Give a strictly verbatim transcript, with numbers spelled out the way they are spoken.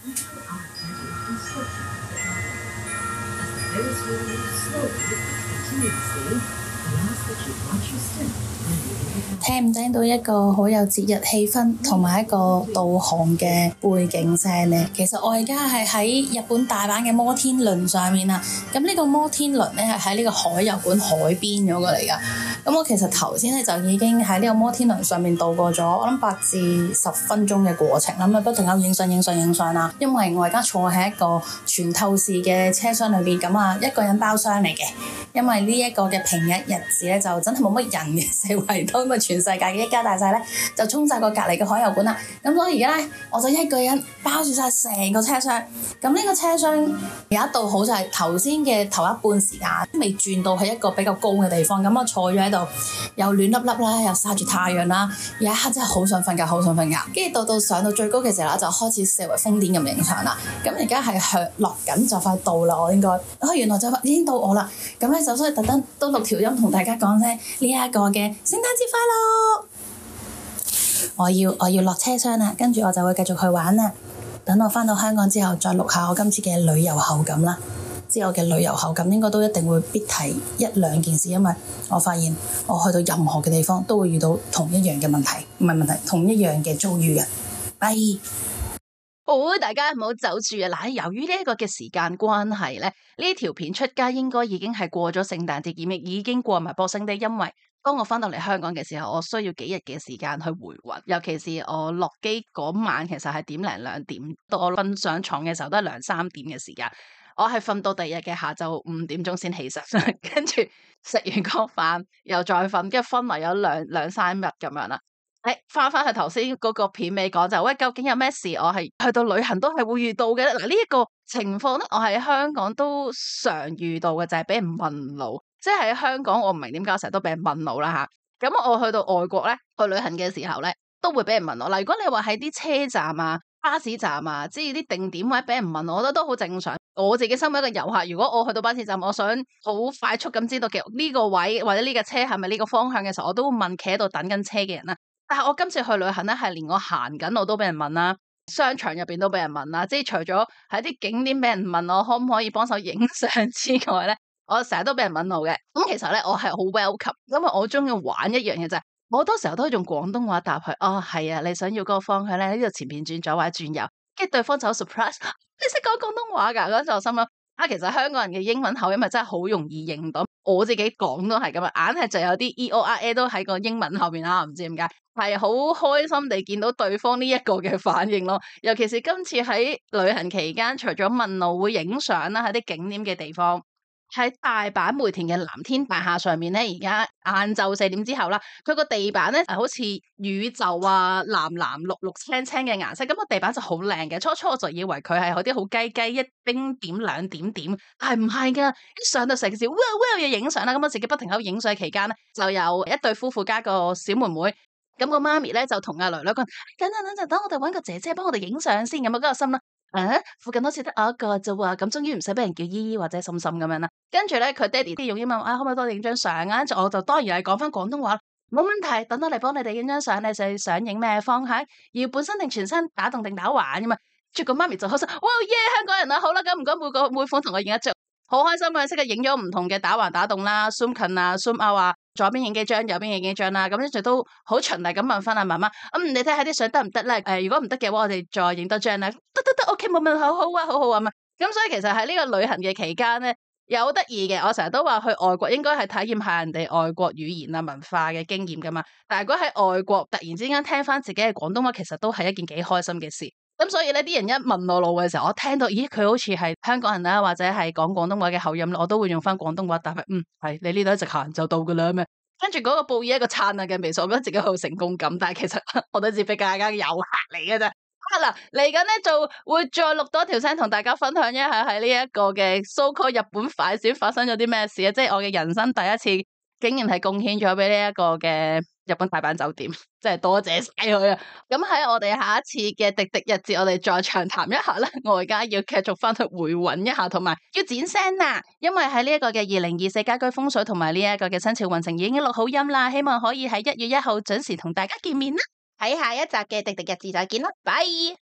聽唔聽到一個好有節日氣氛同埋一個導航嘅背景聲呢？其實我而家係喺日本大阪嘅摩天輪上面啦。咁呢個摩天輪咧係喺呢個海遊館海邊嗰個嚟噶。咁我其實頭先咧就已經喺呢個摩天輪上面度過咗我諗八至十分鐘嘅過程啦。咁啊不停咁影相影相影相啦。因為我而家坐喺一個全透視嘅車廂裏邊，咁啊一個人包廂嚟嘅。因為呢一個嘅平日日子咧就真係冇乜人嘅，四圍都咁啊全世界嘅一家大細咧就衝晒過隔離嘅海遊館啦。咁所以而家咧我就一個人包住晒成個車廂。咁呢個車廂有一度好就係頭先嘅頭一半時間未轉到去一個比較高嘅地方，咁我坐咗喺度又暖粒粒啦，又曬住太陽啦，有一刻真係好想瞓覺，好想瞓覺。跟住到到上到最高嘅時候啦，就開始四圍瘋癲咁影相啦。咁而家係向落緊就快到啦，我應該哦原來就已經到我啦。咁咧就所以特登都錄條音同大家講聲呢一個嘅聖誕節快樂。我要我要落車廂啦，跟住我就會繼續去玩啦。等我返到香港之後，再錄下我今次嘅旅遊後感啦。之後嘅旅遊後感應該都一定會必提一兩件事，因為我發現我去到任何嘅地方都會遇到同一樣嘅問題，唔係問題，同一樣嘅遭遇嘅。拜。 好，大家唔好走住啊！嗱，由於呢一個嘅時間關係咧，呢條片出街應該已經係過咗聖誕節檢疫，已經過埋Boxing Day，因為當我翻到嚟香港嘅時候，我需要幾日嘅時間去回魂，尤其是我落機嗰晚，其實係點零兩點，到我瞓上床嘅時候都係兩三點嘅時間，我係瞓到第二日嘅下晝五點鐘先起身，跟住食完個飯又再瞓，跟住昏迷咗兩兩三日咁樣啦。誒，翻翻去頭先嗰個片尾講就，喂，究竟有咩事？我係去到旅行都係會遇到嘅。嗱，呢一個情況咧，我喺香港都常遇到嘅，就係俾人問路。即係喺香港，我唔明點解成日都俾人問路啦吓。咁我去到外國咧，去旅行嘅時候咧，都會俾人問路。嗱，如果你話喺啲車站啊、巴士站啊，即係啲定點位俾人問我，我覺得都好正常。我自己身為一個遊客，如果我去到巴士站，我想好快速咁知道嘅呢個位或者呢個車係咪呢個方向嘅時候，我都會問企喺度等緊車嘅人啦。但係我今次去旅行咧，係連我行緊我都俾人問啦，商場入邊都俾人問啦，即係除咗喺啲景點俾人問我可唔可以幫手影相之外咧，我成日都俾人問路嘅。咁其實咧，我係好 welcome，因為我中意玩一樣嘢就係，我好多時候都用廣東話答佢。哦，係啊，你想要嗰個方向咧，呢度前邊轉左或者轉右，跟住對方就好 surprise，你識講廣東話噶？嗰陣我心諗啊，其實香港人嘅英文口音咪真係好容易認到，我自己講都係咁啊，硬係就有啲 E O R A 都喺個英文後邊啦，唔知點解。係好開心地見到對方呢一個嘅反應咯，尤其是今次喺旅行期間，除咗問路會影相啦，喺啲景點嘅地方，喺大阪梅田嘅藍天大廈上面咧，而家晏晝四點之後啦，佢個地板咧係好似宇宙啊，藍藍綠綠青青嘅顏色，咁個地板就好靚嘅。初初我就以為佢係嗰啲好雞雞一丁點兩點點，但係唔係噶，一上到成件事，哇哇要影相啦，咁我自己不停喺度影相期間咧，就有一對夫婦加個小妹妹。咁個媽咪咧就同阿女女講：等等等陣，等我哋搵個姐姐幫我哋影相先。咁啊，嗰個心啦，誒，附近好似得我一個啫喎。咁終於唔使俾人叫姨姨或者嬸嬸咁樣啦。跟住咧，佢爹哋啲用英文啊，可唔可以幫我影張相啊？跟住我就當然係講翻廣東話，冇問題。等我嚟幫你哋影張相，你就想影咩方向？要本身定全身打動定打橫噶嘛？跟住個媽咪就開心，哇耶！香港人啊，好啦，咁唔該每個每款同我影一張，好開心啊！即刻影咗唔同嘅打橫打動啦 ，zoom 近啊 ，zoom out 啊。左邊影幾張，右邊影幾張啦，咁跟住都好循例咁問翻阿媽媽，咁、嗯、你睇下啲相得唔得咧？誒、呃，如果唔得嘅話，我哋再影多張啦。得得得 ，OK，冇問題，好好啊，好好啊嘛。咁所以其實喺呢個旅行嘅期間咧，有好得意嘅。我成日都話去外國應該係體驗下人哋外國語言啊文化嘅經驗噶嘛。但係如果喺外國突然之間聽翻自己嘅廣東話，其實都係一件幾開心嘅事。咁所以咧，啲人一問我路嘅時候，我聽到，咦，佢好似係香港人啦，或者係講廣東話嘅口音，我都會用翻廣東話答佢，嗯，係你呢度一直行就到噶啦咩？跟住嗰個報以一個燦爛嘅微笑，我覺得自己好成功感，但係其實我都只俾大家遊客嚟嘅啫。啊嗱，嚟緊咧就會再錄多條聲同大家分享一下喺呢一個嘅 so called 日本快閃發生咗啲咩事啊！即係我嘅人生第一次，竟然係貢獻咗俾呢一個嘅日本大阪酒店，真係多謝晒佢啊！咁喺我哋下一次嘅滴滴日誌，我哋再長談一下啦。我而家要繼續翻去回穩一下，同埋要剪聲啦，因為喺呢一個嘅二零二四家居風水同埋呢一個嘅生肖運程已經錄好音啦，希望可以喺一月一號準時同大家見面啦。喺下一集嘅滴滴日誌再見啦，拜。